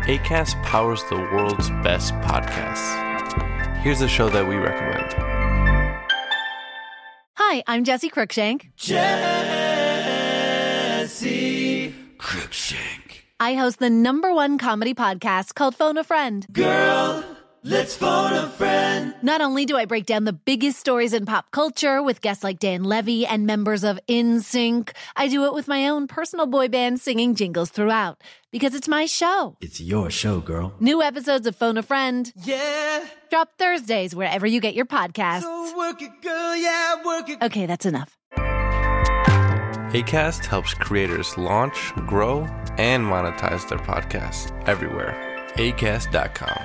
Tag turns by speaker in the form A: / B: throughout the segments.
A: Acast powers the world's best podcasts. Here's a show that we recommend.
B: Hi, I'm Jessie Cruikshank.
C: Jessie Cruikshank.
B: I host the #1 comedy podcast called Phone a Friend.
C: Girl, let's phone a friend.
B: Not only do I break down the biggest stories in pop culture with guests like Dan Levy and members of NSYNC, I do it with my own personal boy band singing jingles throughout. Because it's my show.
C: It's your show, girl.
B: New episodes of Phone a Friend.
C: Yeah.
B: Drop Thursdays wherever you get your podcasts.
C: So work it, girl, yeah, work it.
B: Okay, that's enough.
A: Acast helps creators launch, grow, and monetize their podcasts everywhere. Acast.com.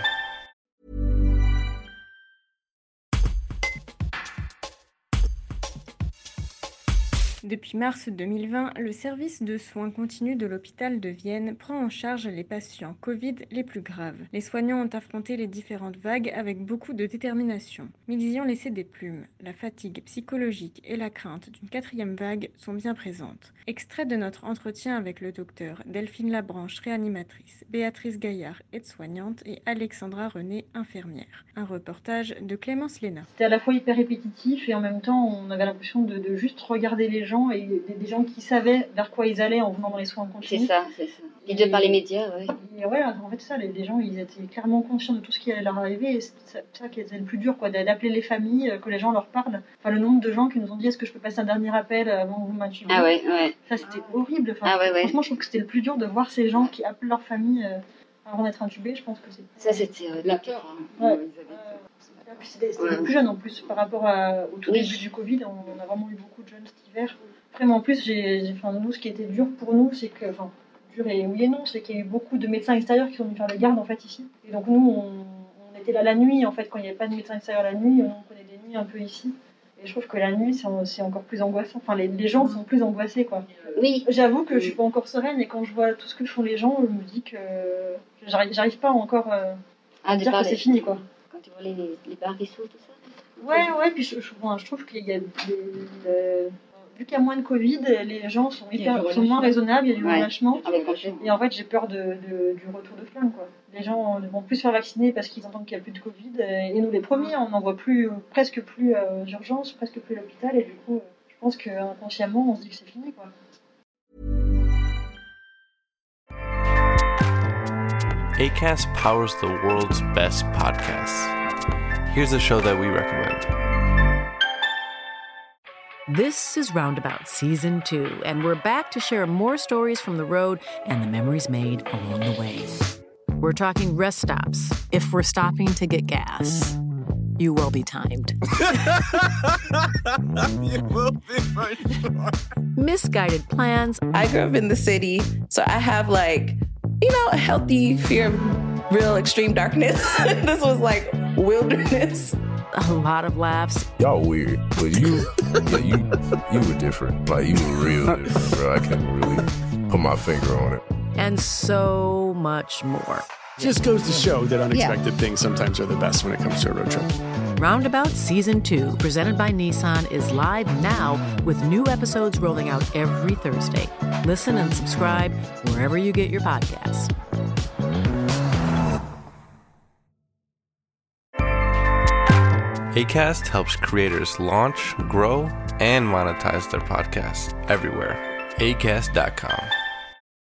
D: Depuis mars 2020, le service de soins continus de l'hôpital de Vienne prend en charge les patients Covid les plus graves. Les soignants ont affronté les différentes vagues avec beaucoup de détermination. Mais ils y ont laissé des plumes. La fatigue psychologique et la crainte d'une 4e vague sont bien présentes. Extrait de notre entretien avec le docteur Delphine Labranche, réanimatrice, Béatrice Gaillard, aide-soignante, et Alexandra René, infirmière. Un reportage de Clémence Léna.
E: C'était à la fois hyper répétitif et en même temps on avait l'impression de juste regarder les gens et des gens qui savaient vers quoi ils allaient en venant dans les soins continus.
F: C'est ça. Et de par les médias, ouais.
E: Et ouais, en fait ça, les gens ils étaient clairement conscients de tout ce qui allait leur arriver et c'est ça qui était le plus dur, quoi, d'appeler les familles, que les gens leur parlent. Enfin, le nombre de gens qui nous ont dit est-ce que je peux passer un dernier appel avant que vous m'intubiez.
F: Ah ouais.
E: Ça c'était horrible. Enfin,
F: Ah ouais.
E: Franchement je trouve que c'était le plus dur de voir ces gens qui appellent leur famille avant d'être intubés. Je pense que c'est...
F: Ça c'était
G: la peur.
E: Ouais. C'était les plus jeunes en plus par rapport au tout début du Covid. On a vraiment eu beaucoup de jeunes cet hiver. Après, en plus, nous, ce qui était dur pour nous, c'est que, dur et oui et non, c'est qu'il y a eu beaucoup de médecins extérieurs qui sont venus faire les gardes en fait ici. Et donc nous, on était là la nuit en fait, quand il n'y avait pas de médecins extérieurs la nuit, on prenait des nuits un peu ici. Et je trouve que la nuit, c'est encore plus angoissant. Enfin, les gens sont plus angoissés, quoi.
F: Oui.
E: J'avoue que je suis pas encore sereine et quand je vois tout ce que font les gens, je me dis que j'arrive pas encore à dire que c'est fini, quoi.
F: Quand tu vois les bars qui s'ouvrent, tout ça.
E: Ouais, puis je trouve qu'il y a vu qu'il y a moins de Covid, les gens sont moins raisonnables, il y a du relâchement. Et en fait, j'ai peur du retour de flamme, quoi. Les gens vont plus se faire vacciner parce qu'ils entendent qu'il n'y a plus de Covid. Et nous, les premiers, on n'en voit presque plus d'urgence, presque plus à l'hôpital. Et du coup, je pense qu'inconsciemment, on se dit que c'est fini, quoi.
A: Acast powers the world's best podcasts. Here's a show that we recommend.
H: This is Roundabout Season 2, and we're back to share more stories from the road and the memories made along the way. We're talking rest stops, if we're stopping to get gas. You will be timed.
C: You will be for sure.
H: Misguided plans.
I: I grew up in the city, so I have a healthy fear of real extreme darkness. This was like wilderness.
H: A lot of laughs.
J: Y'all weird, but you were different. Like, you were real different, bro. I can't really put my finger on it.
H: And so much more.
K: Just goes to show that unexpected things sometimes are the best when it comes to a road trip.
H: Roundabout Season 2, presented by Nissan, is live now with new episodes rolling out every Thursday. Listen and subscribe wherever you get your podcasts.
A: Acast helps creators launch, grow, and monetize their podcasts everywhere. Acast.com.